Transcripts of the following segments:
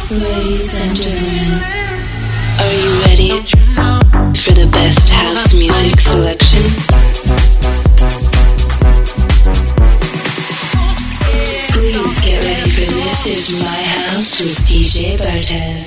Ladies and gentlemen, are you ready for the best house music selection? Please get ready for This Is My House with DJ Bartez.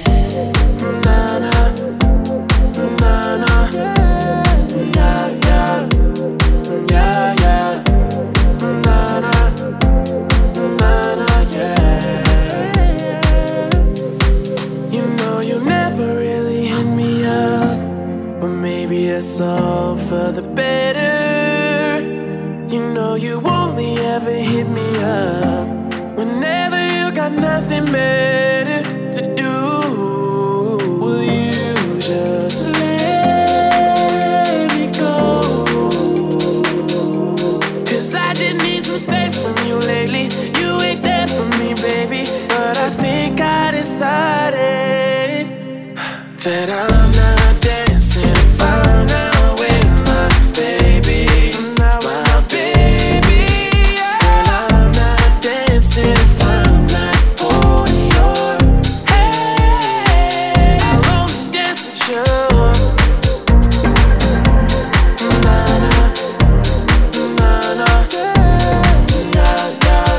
It's all for the better. You know you only ever hit me up whenever you got nothing better to do. Will you just let me go? 'Cause I just need some space from you lately. You ain't there for me, baby. But I think I decided that I'm not dancing if I'm not with my baby. My baby, girl, I'm not dancing if I'm not holding your hand. I'll only dance with you. Na-na, na-na, yeah.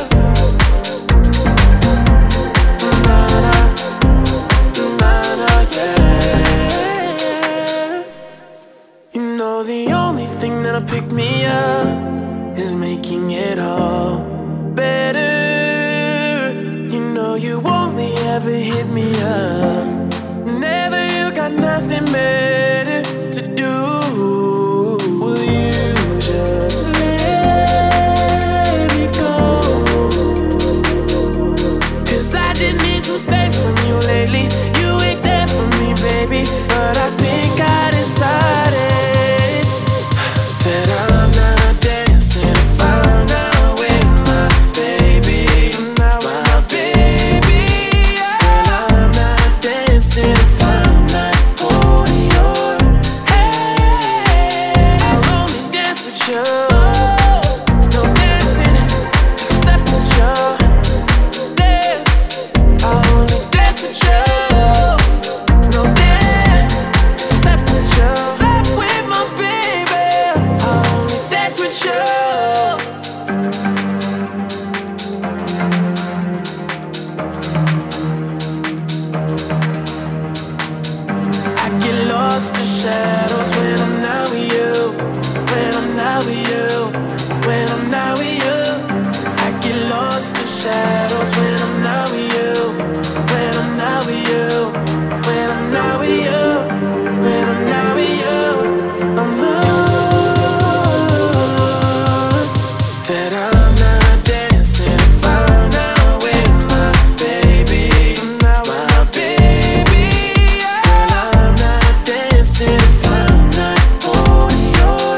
The only thing that'll pick me up is making it all better. You know you only ever hit me up whenever you got nothing better to do. Will you just let me go? 'Cause I just need some space from you lately. You ain't there for me, baby. But I think I decided that I'm not dancing if I'm not with my baby. My baby, girl, I'm not dancing if I'm not holding your hand. I'll only dance with you. No dancing except with you. Dance, I'll only dance with you. No dancing except with you. Except with my baby. With you. I get lost in shadows when I'm not with you. When I'm not with you. When I'm not with you. I get lost in shadows when I'm not with you. When I'm not with you. When I'm not with you. When I'm not with you. I'm that I'm not dancing if I'm not with my baby. My baby, girl, I'm not dancing if I'm not holding your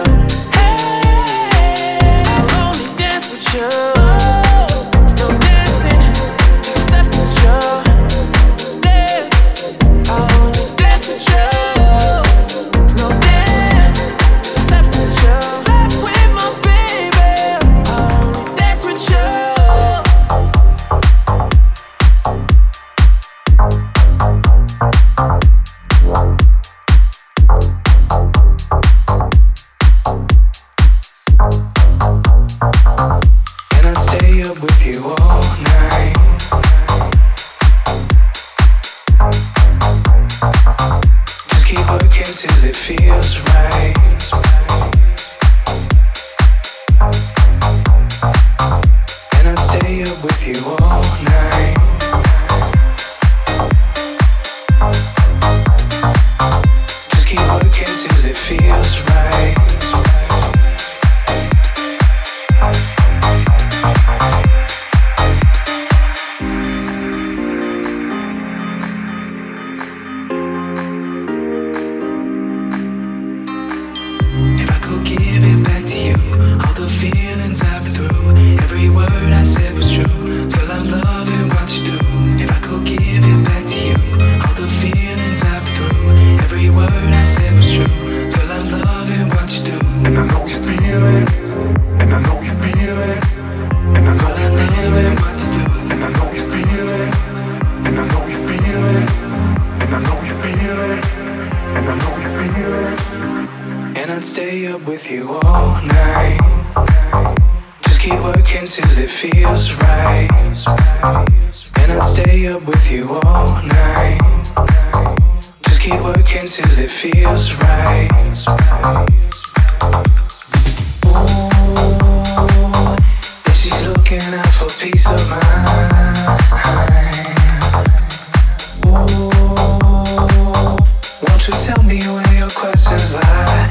hand. I'll only dance with you. No dancing except with you. Dance, I'll only dance with you. No dancing except with you. Except with my baby. stay up with you all night. Just keep working till it feels right. And I'd stay up with you all night. Just keep working till it feels right. Ooh, and she's looking out for peace of mind. Ooh, won't you tell me where your questions lie?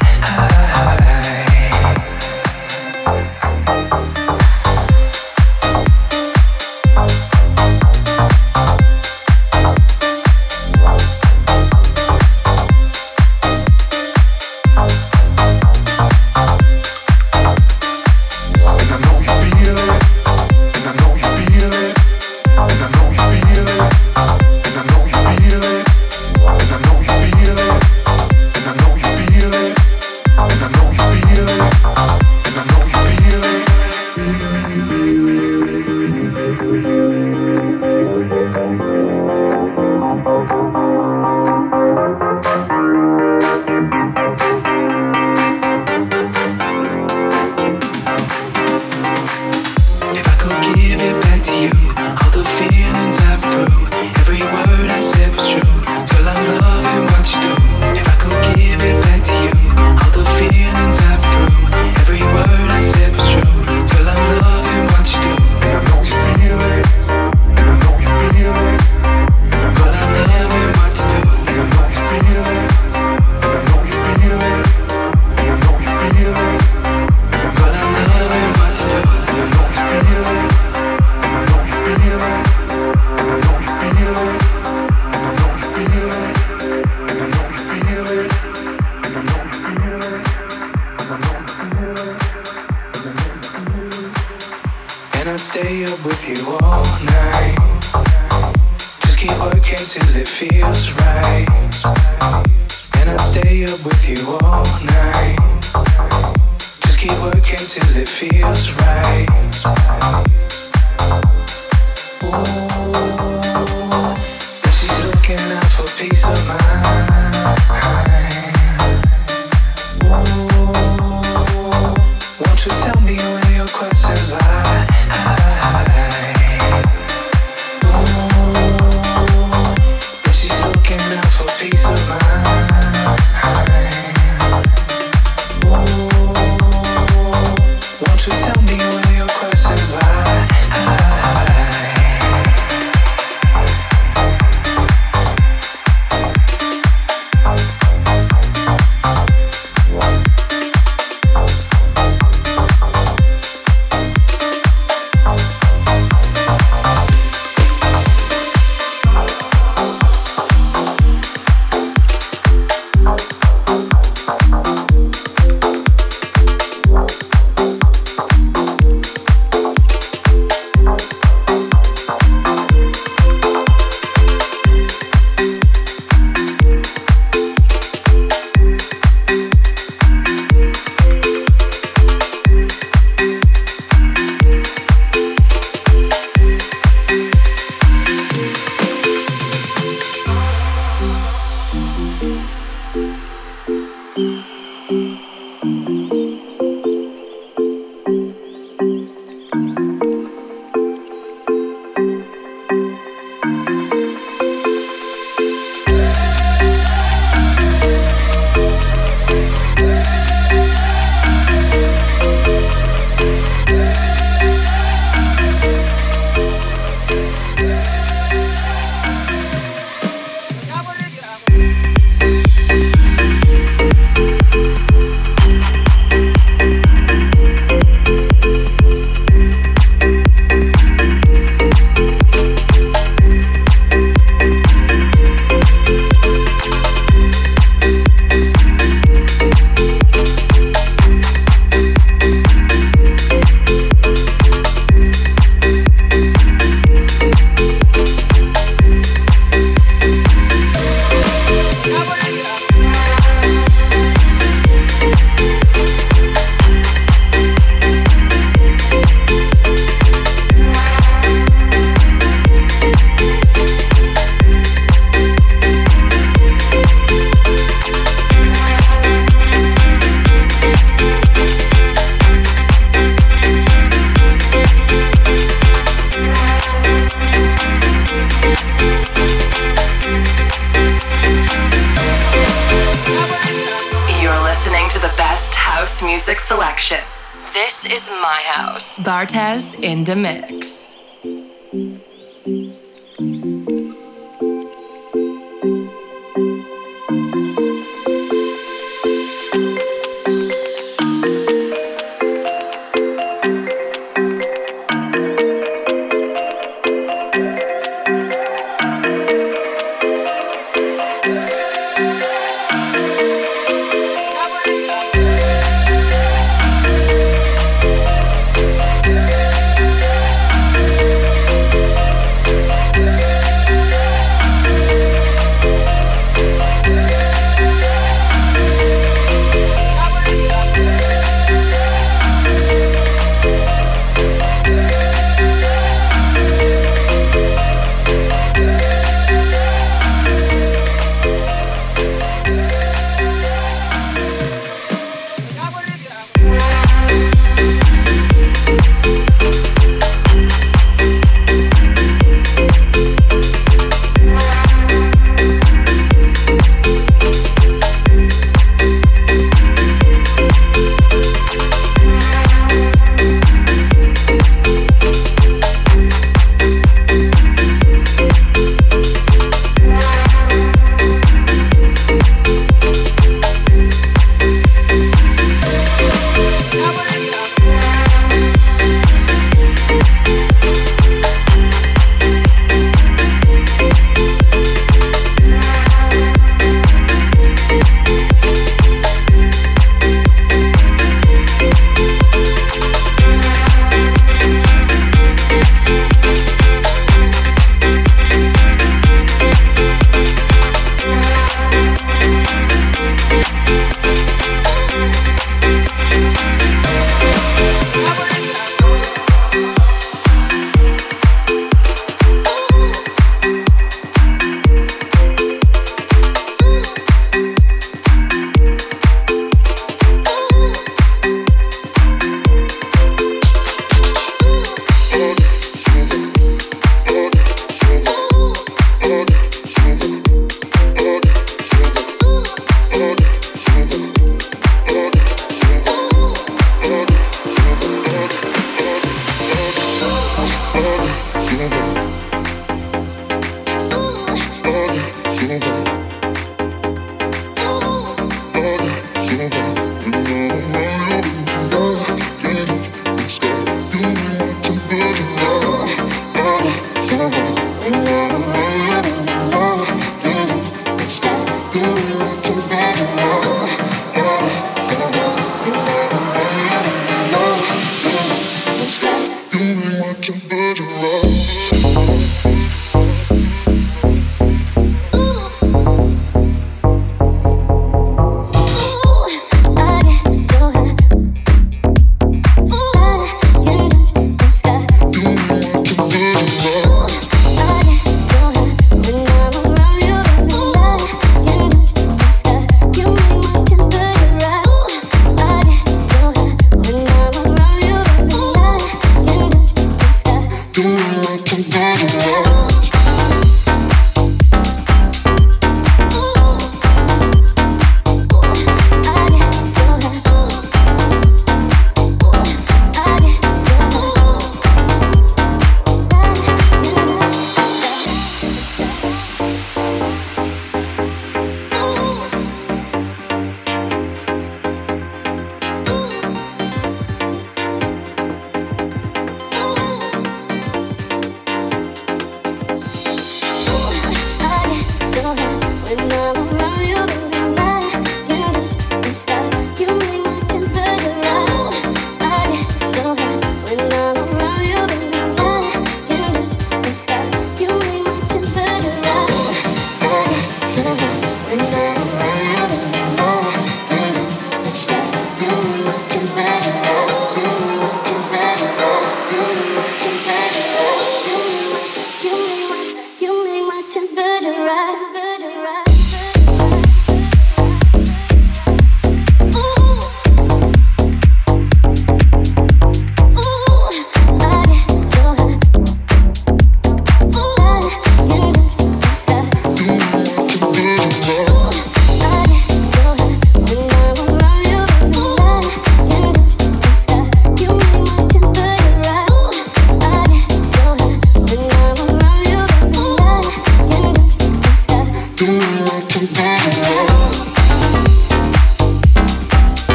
music selection. This is my house. Bartez in the mix.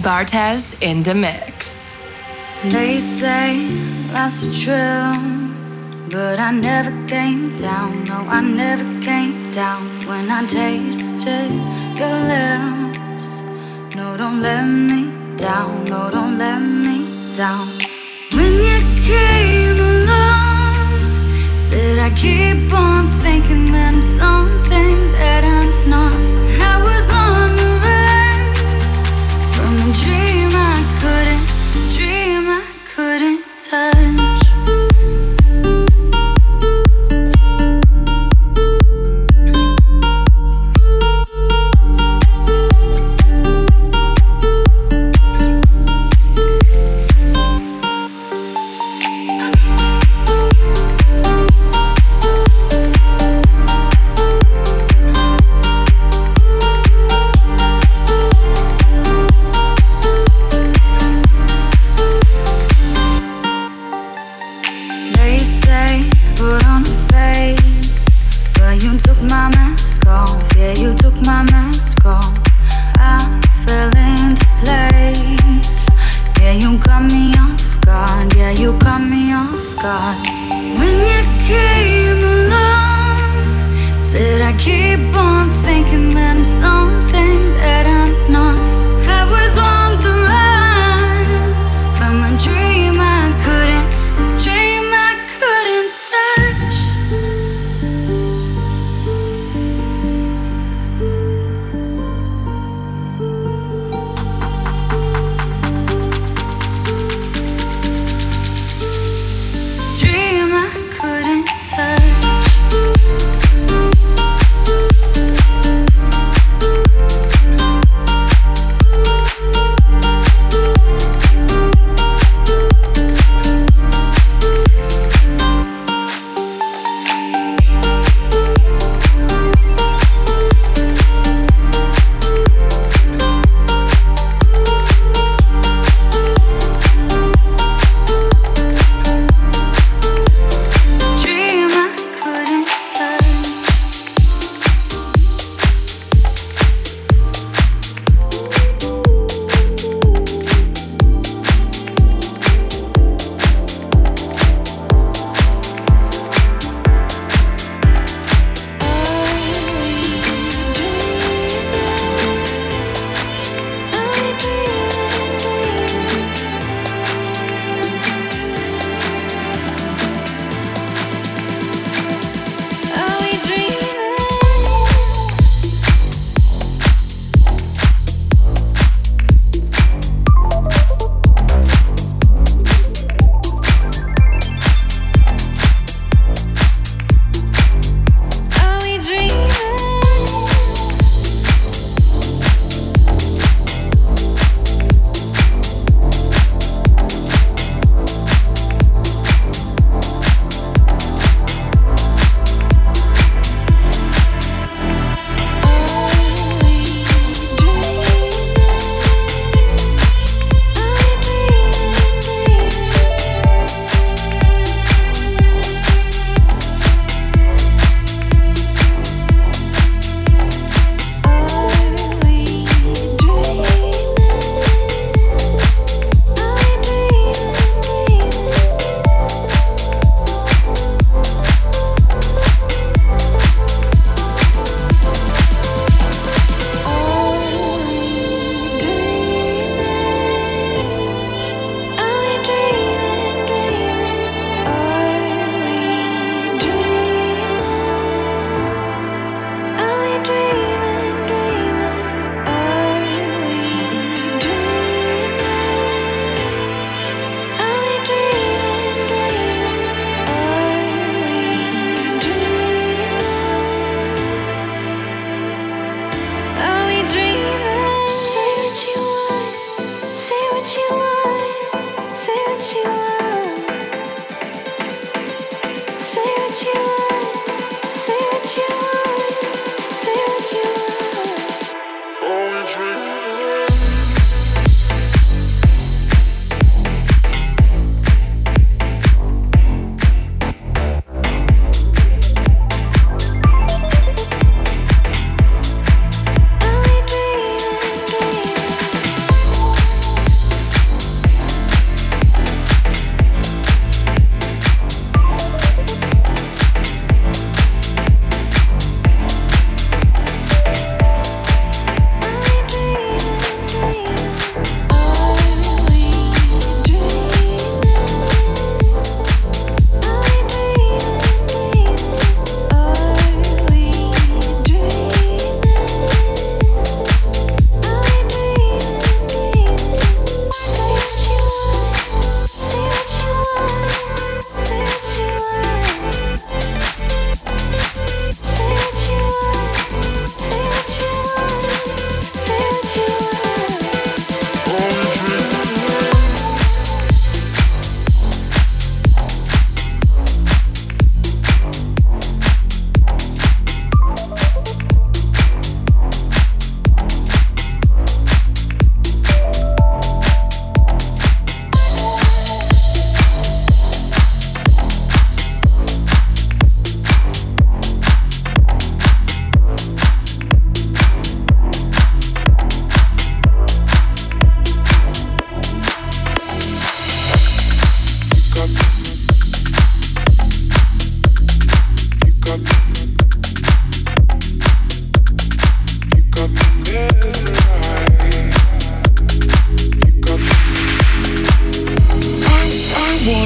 Bartez in the mix. They say life's a thrill, but I never came down. No, I never came down when I tasted your lips. No, don't let me down. No, don't let me down. When you came along, said I keep on thinking that I'm something that I'm not. I was on the run from a dream I couldn't touch.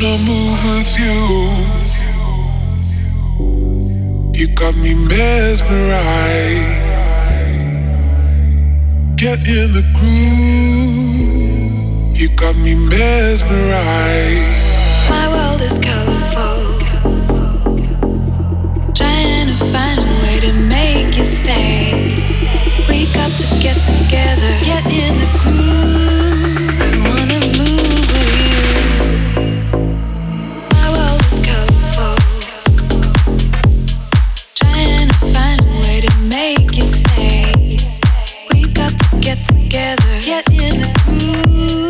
wanna move with you. You got me mesmerized. Get in the groove. You got me mesmerized. My world is colorful, trying to find a way to make you stay. We got to get together, get in the groove. I wanna move with you. My world is colorful, trying to find a way to make you stay. We got to get together, get in the groove.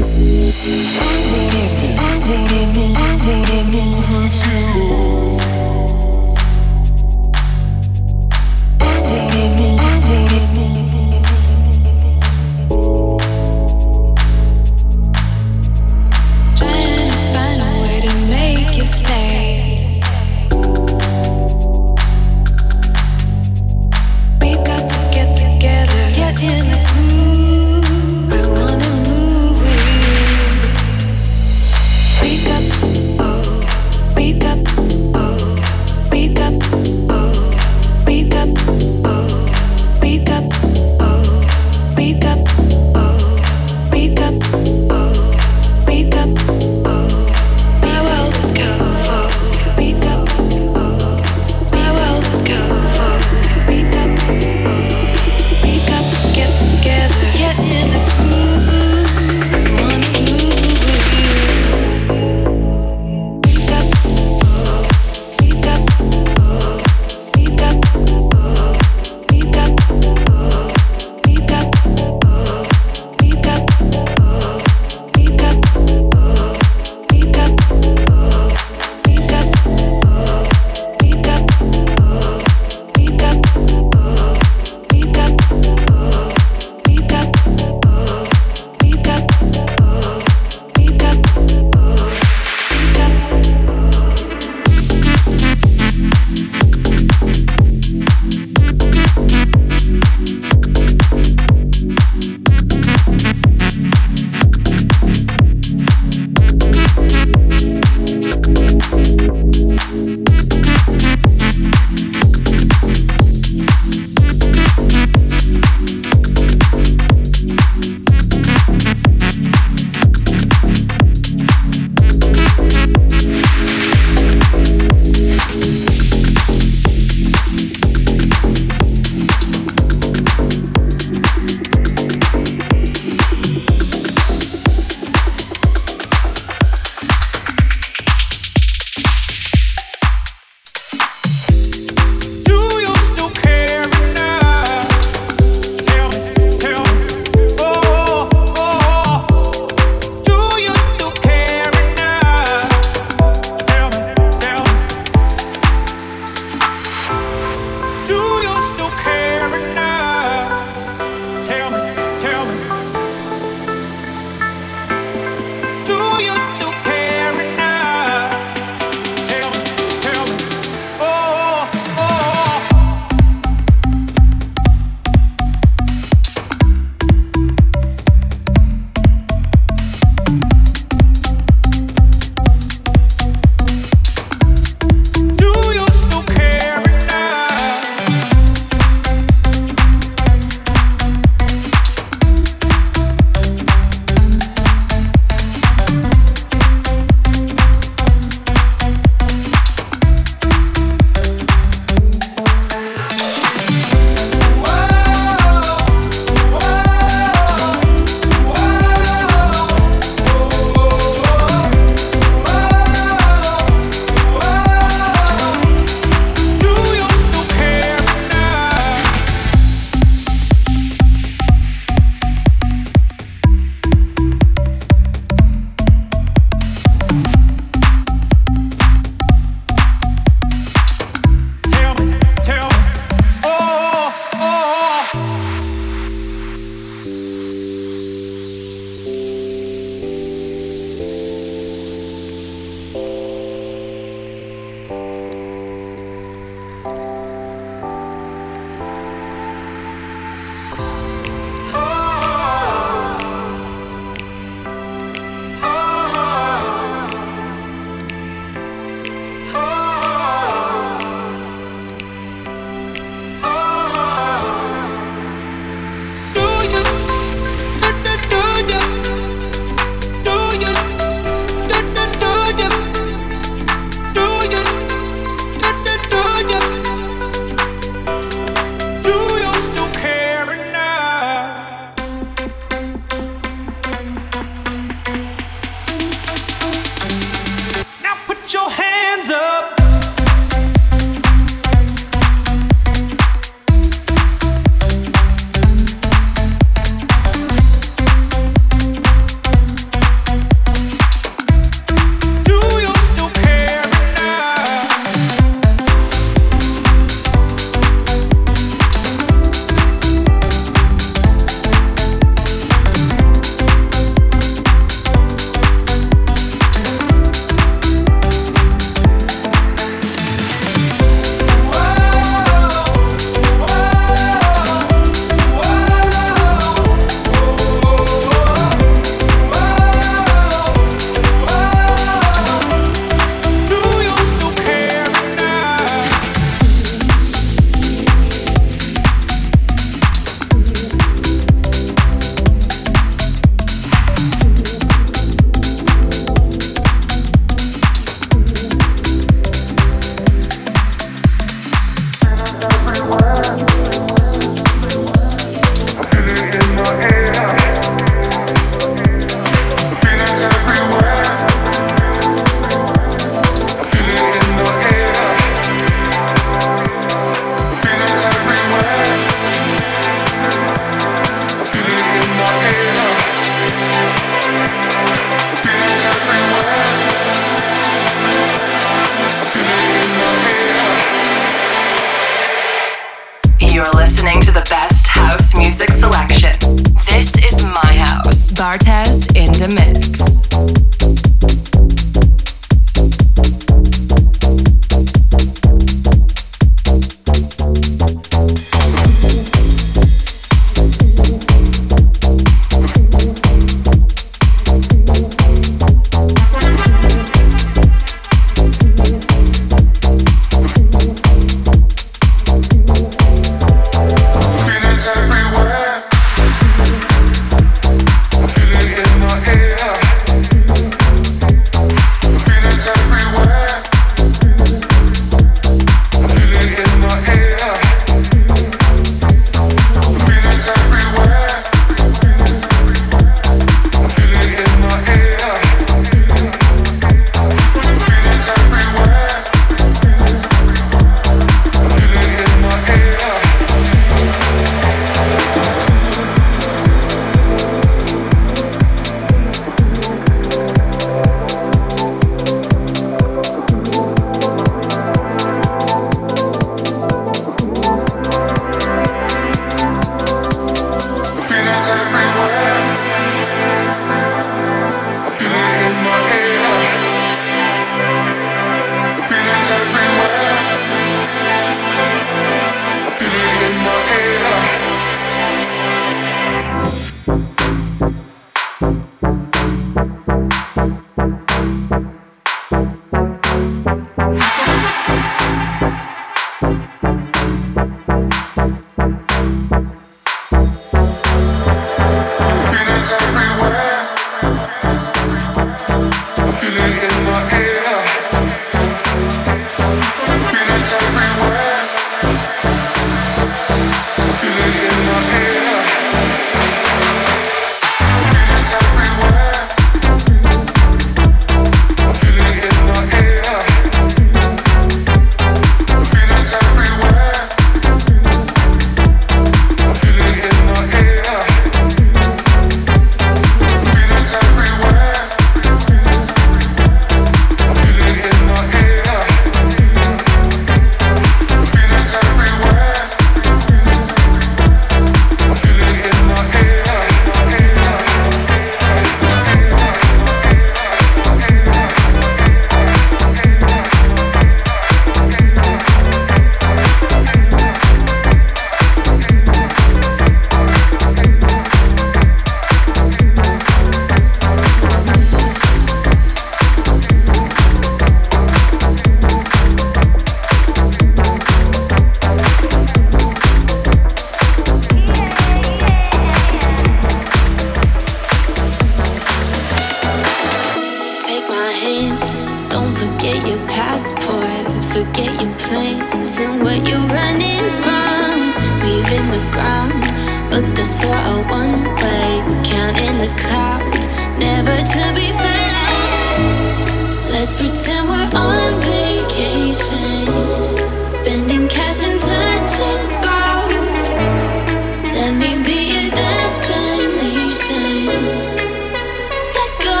your passport, forget your plans and what you're running from. Leaving the ground, but this for a one-way, counting the clouds, never to be found. Let's pretend we're on vacation, spending cash and touching gold. Let me be your destination. Let go.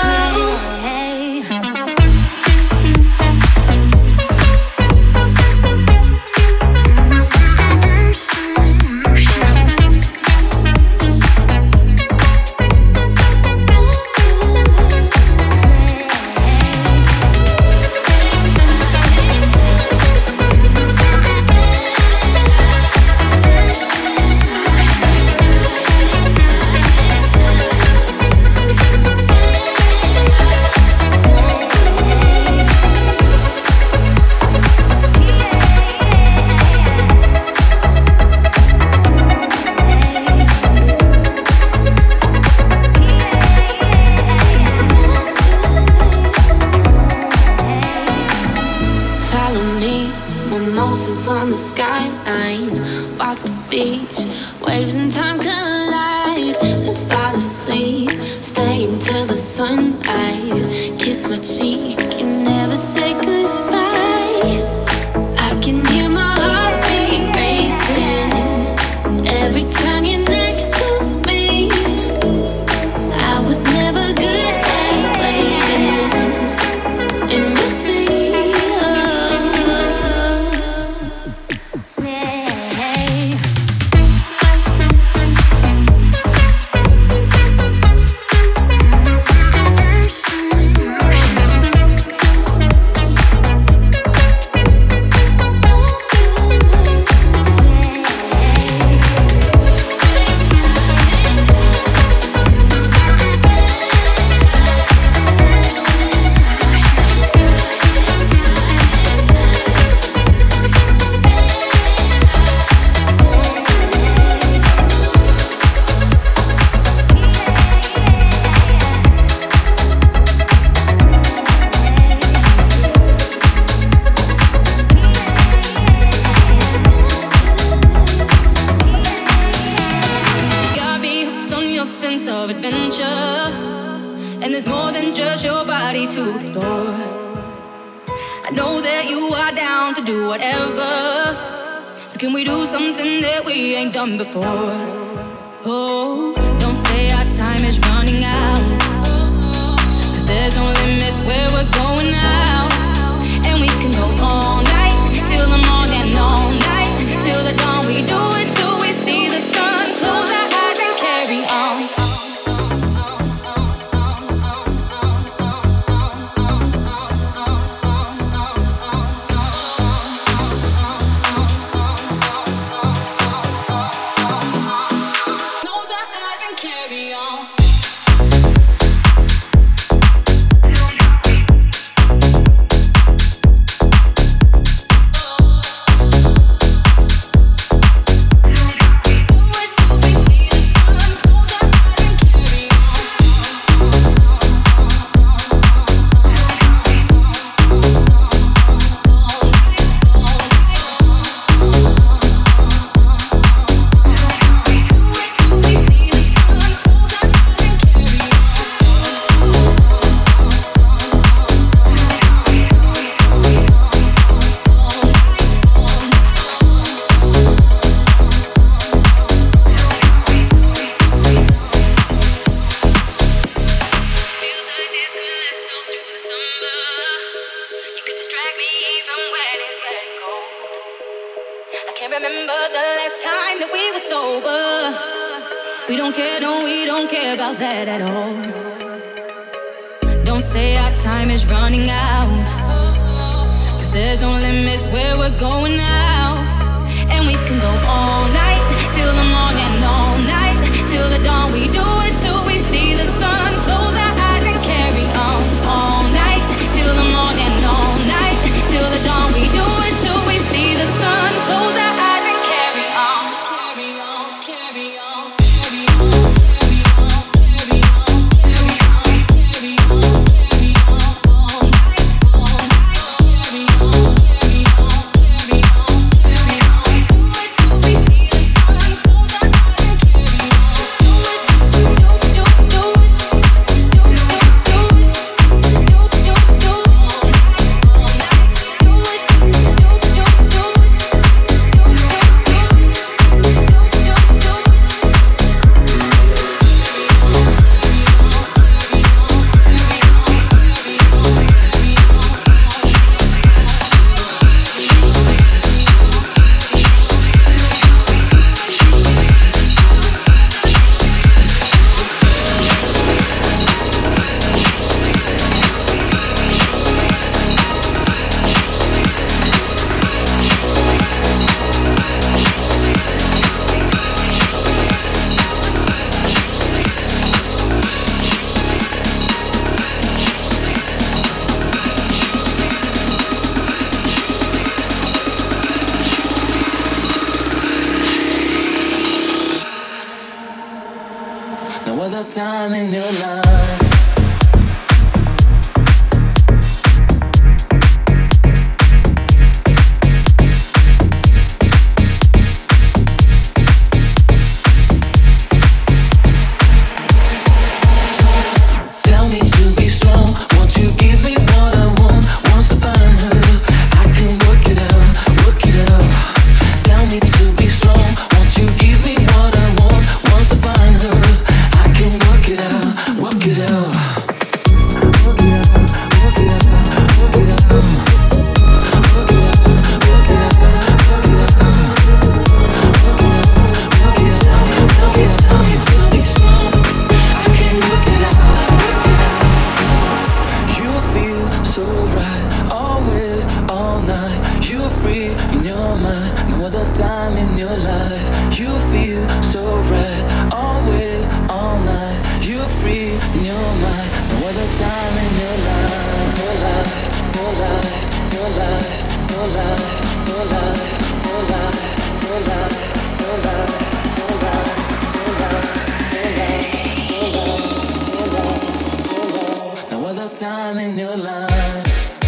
On the skyline, walk the beach, waves and time collide. Let's fall asleep, stay until the sunrise. Kiss my cheek and never say goodbye. I can hear my heartbeat racing every time you're next to me. I was never good at waiting, and you see. Done before. Oh, don't say our time is running out, 'cause there's no limits where we're going now. And we can go all night, till the morning, all night, till the dawn. We do it till we see the sun. Close our eyes and carry on. time in your life. Time in your life.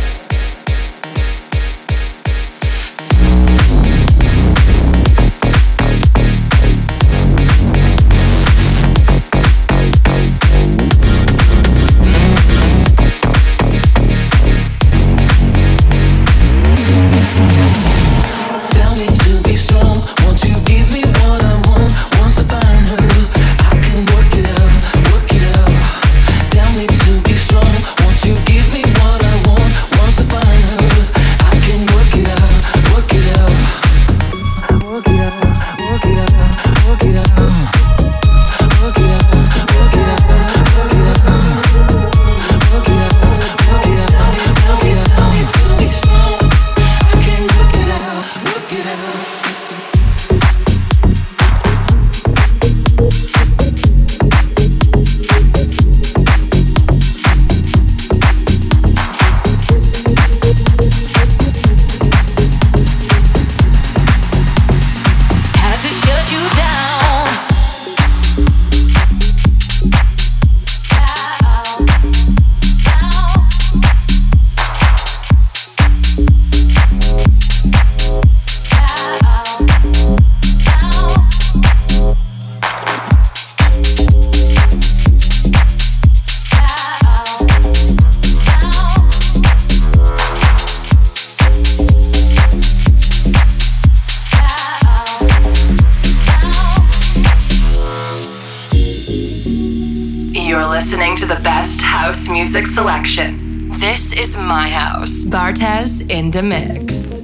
Music selection. This is my house. Bartez in the mix.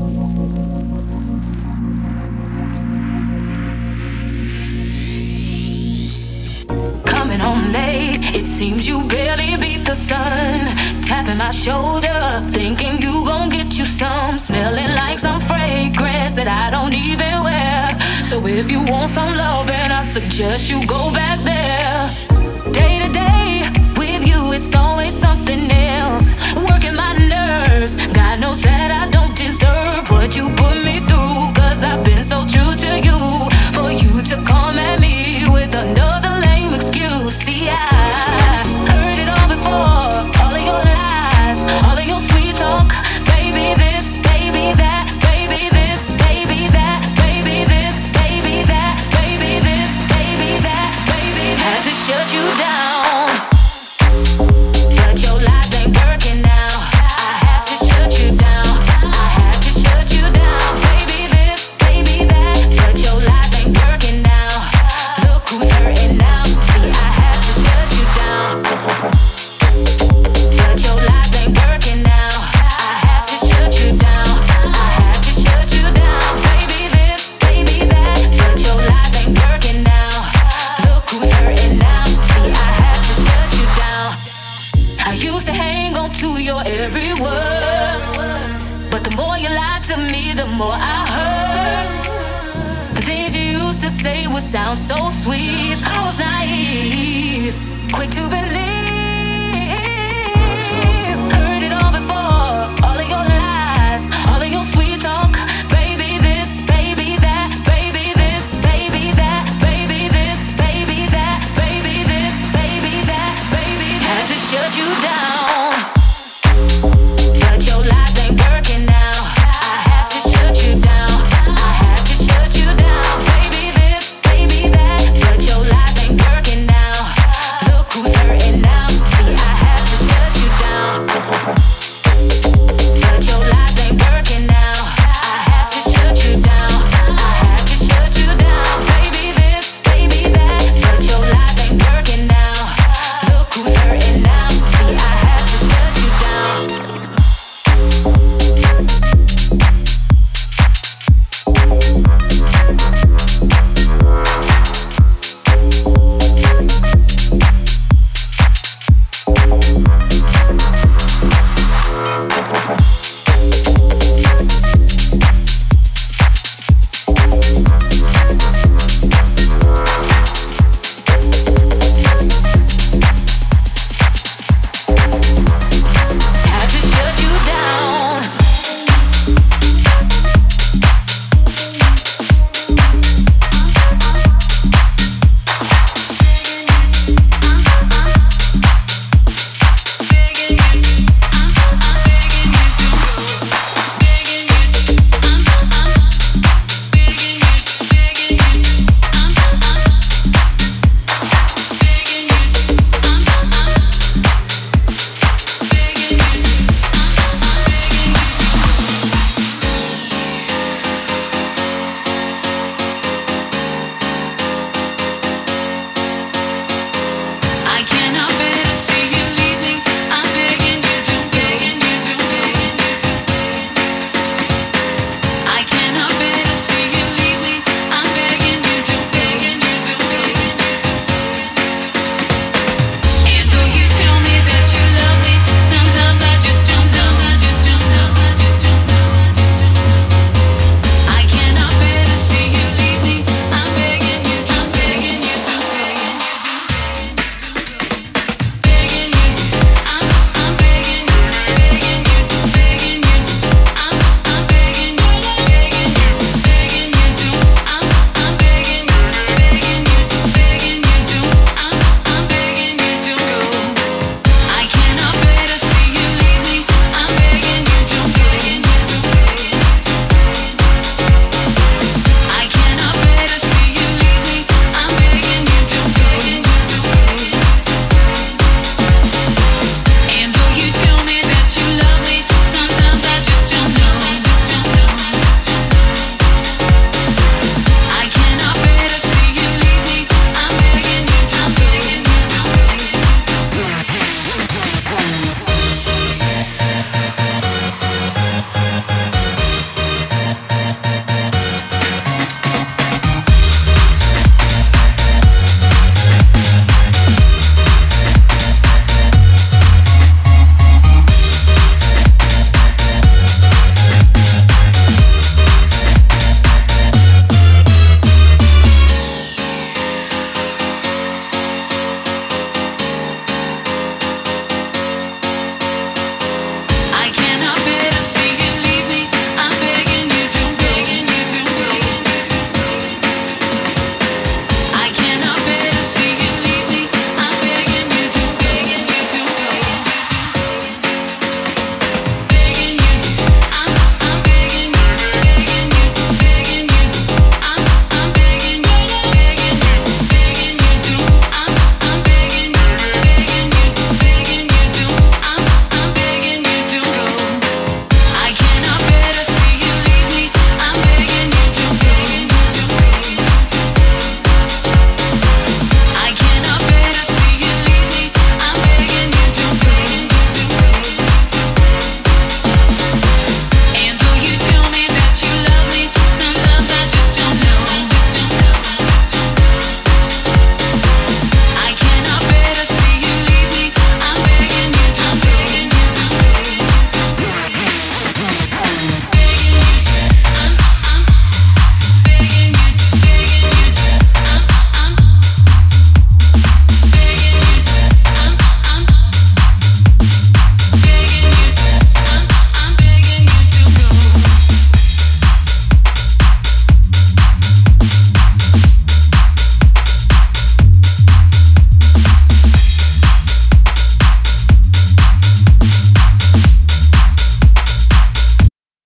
Coming home late, it seems you barely beat the sun. Tapping my shoulder, thinking you gon' get you some. Smelling like some fragrance that I don't even wear. So if you want some loving, I suggest you go back there. Day to day, it's always something else, working my nerves. God knows that I don't deserve what you put me through, 'cause I've been so true to you. For you to come at me with another lame excuse. See, I heard it all before. All of your lies, all of your sweet talk. Baby this, baby that, baby this, baby that, baby this, baby that, baby this, baby that, baby that. Had to shut you down. Sounds so sweet. I was naive, quick to believe